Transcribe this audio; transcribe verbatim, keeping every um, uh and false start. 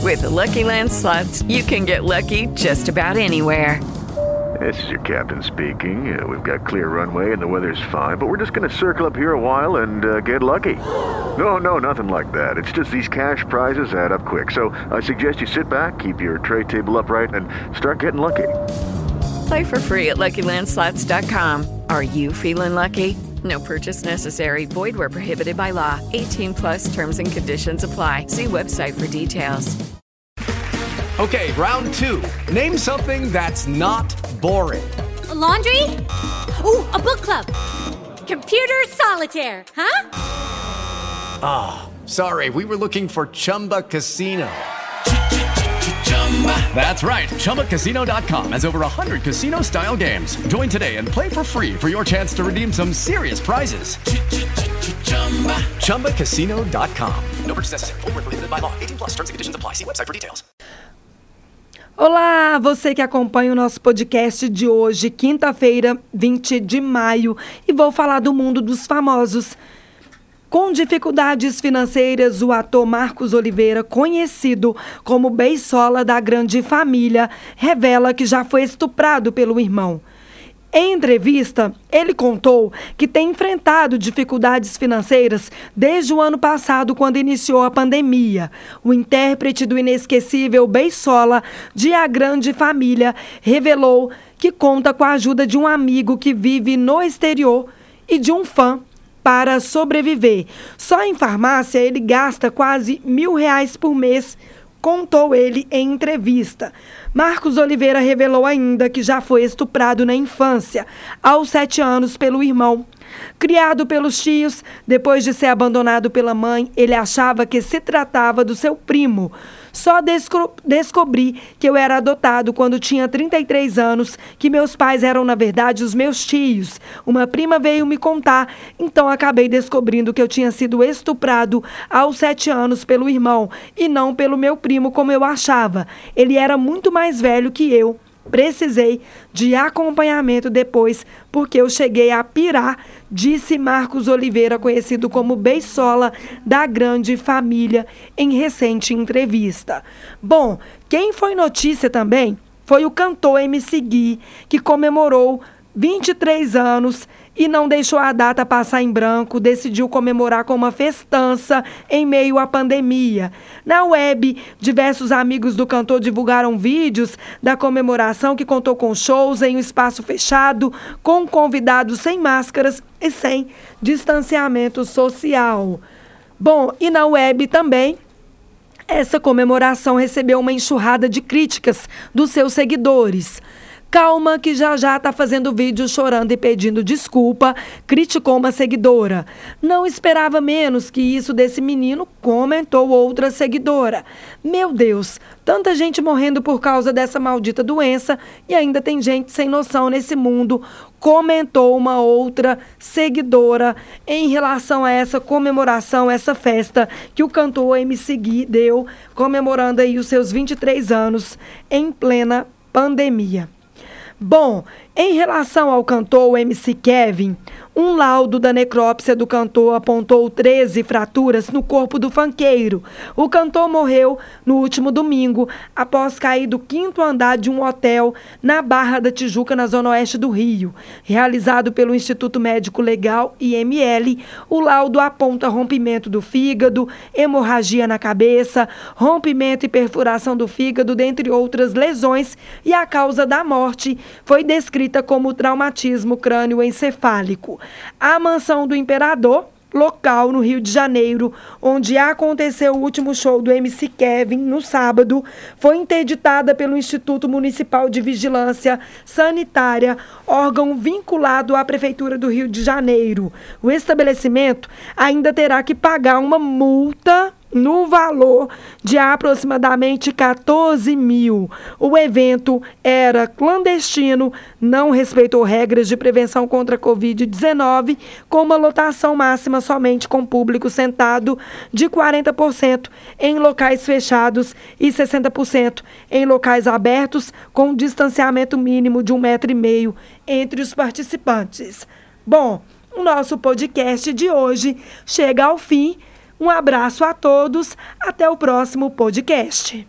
With the Lucky Land Slots, you can get lucky just about anywhere. This is your captain speaking. Uh, we've got clear runway and the weather's fine, but we're just going to circle up here a while and uh, get lucky. No, no, nothing like that. It's just these cash prizes add up quick. So I suggest you sit back, keep your tray table upright, and start getting lucky. Play for free at Lucky Land Slots dot com. Are you feeling lucky? No purchase necessary. Void where prohibited by law. eighteen plus terms and conditions apply. See website for details. Okay, round two. Name something that's not boring. A laundry? Ooh, a book club. Computer solitaire, huh? Ah, oh, sorry. We were looking for Chumba Casino. That's right. Chumba Casino dot com has over one hundred casino-style games. Join today and play for free for your chance to redeem some serious prizes. Chumba Casino dot com. No purchase necessary. Void where prohibited by law. eighteen plus terms and conditions apply. See website for details. Olá, você que acompanha o nosso podcast de hoje, quinta-feira, vinte de maio, e vou falar do mundo dos famosos. Com dificuldades financeiras, o ator Marcos Oliveira, conhecido como Beisola da Grande Família, revela que já foi estuprado pelo irmão. Em entrevista, ele contou que tem enfrentado dificuldades financeiras desde o ano passado, quando iniciou a pandemia. O intérprete do inesquecível Beisola de A Grande Família revelou que conta com a ajuda de um amigo que vive no exterior e de um fã para sobreviver. Só em farmácia ele gasta quase mil reais por mês, contou ele em entrevista. Marcos Oliveira revelou ainda que já foi estuprado na infância, aos sete anos, pelo irmão. Criado pelos tios, depois de ser abandonado pela mãe, ele achava que se tratava do seu primo. Só desco- descobri que eu era adotado quando tinha trinta e três anos, que meus pais eram, na verdade, os meus tios. Uma prima veio me contar, então acabei descobrindo que eu tinha sido estuprado aos sete anos pelo irmão e não pelo meu primo, como eu achava. Ele era muito mais velho que eu. Precisei de acompanhamento depois, porque eu cheguei a pirar, disse Marcos Oliveira, conhecido como Beisola da Grande Família, em recente entrevista. Bom, quem foi notícia também foi o cantor M C Gui, que comemorou vinte e três anos e não deixou a data passar em branco, decidiu comemorar com uma festança em meio à pandemia. Na web, diversos amigos do cantor divulgaram vídeos da comemoração, que contou com shows em um espaço fechado, com convidados sem máscaras e sem distanciamento social. Bom, e na web também, essa comemoração recebeu uma enxurrada de críticas dos seus seguidores. Calma, que já já está fazendo vídeo chorando e pedindo desculpa, criticou uma seguidora. Não esperava menos que isso desse menino, comentou outra seguidora. Meu Deus, tanta gente morrendo por causa dessa maldita doença e ainda tem gente sem noção nesse mundo, comentou uma outra seguidora em relação a essa comemoração, essa festa que o cantor M C Gui deu, comemorando aí os seus vinte e três anos em plena pandemia. Bom, em relação ao cantor M C Kevin, um laudo da necrópsia do cantor apontou treze fraturas no corpo do funkeiro. O cantor morreu no último domingo, após cair do quinto andar de um hotel na Barra da Tijuca, na zona oeste do Rio. Realizado pelo Instituto Médico Legal, I M L, o laudo aponta rompimento do fígado, hemorragia na cabeça, rompimento e perfuração do fígado, dentre outras lesões, e a causa da morte foi descrita como traumatismo crânioencefálico. A mansão do Imperador, local no Rio de Janeiro, onde aconteceu o último show do M C Kevin no sábado, foi interditada pelo Instituto Municipal de Vigilância Sanitária, órgão vinculado à Prefeitura do Rio de Janeiro. O estabelecimento ainda terá que pagar uma multa no valor de aproximadamente quatorze mil. O evento era clandestino, não respeitou regras de prevenção contra a covid dezenove, com uma lotação máxima somente com público sentado de quarenta por cento em locais fechados e sessenta por cento em locais abertos, com distanciamento mínimo de um metro e meio entre os participantes. Bom, o nosso podcast de hoje chega ao fim. Um abraço a todos, até o próximo podcast.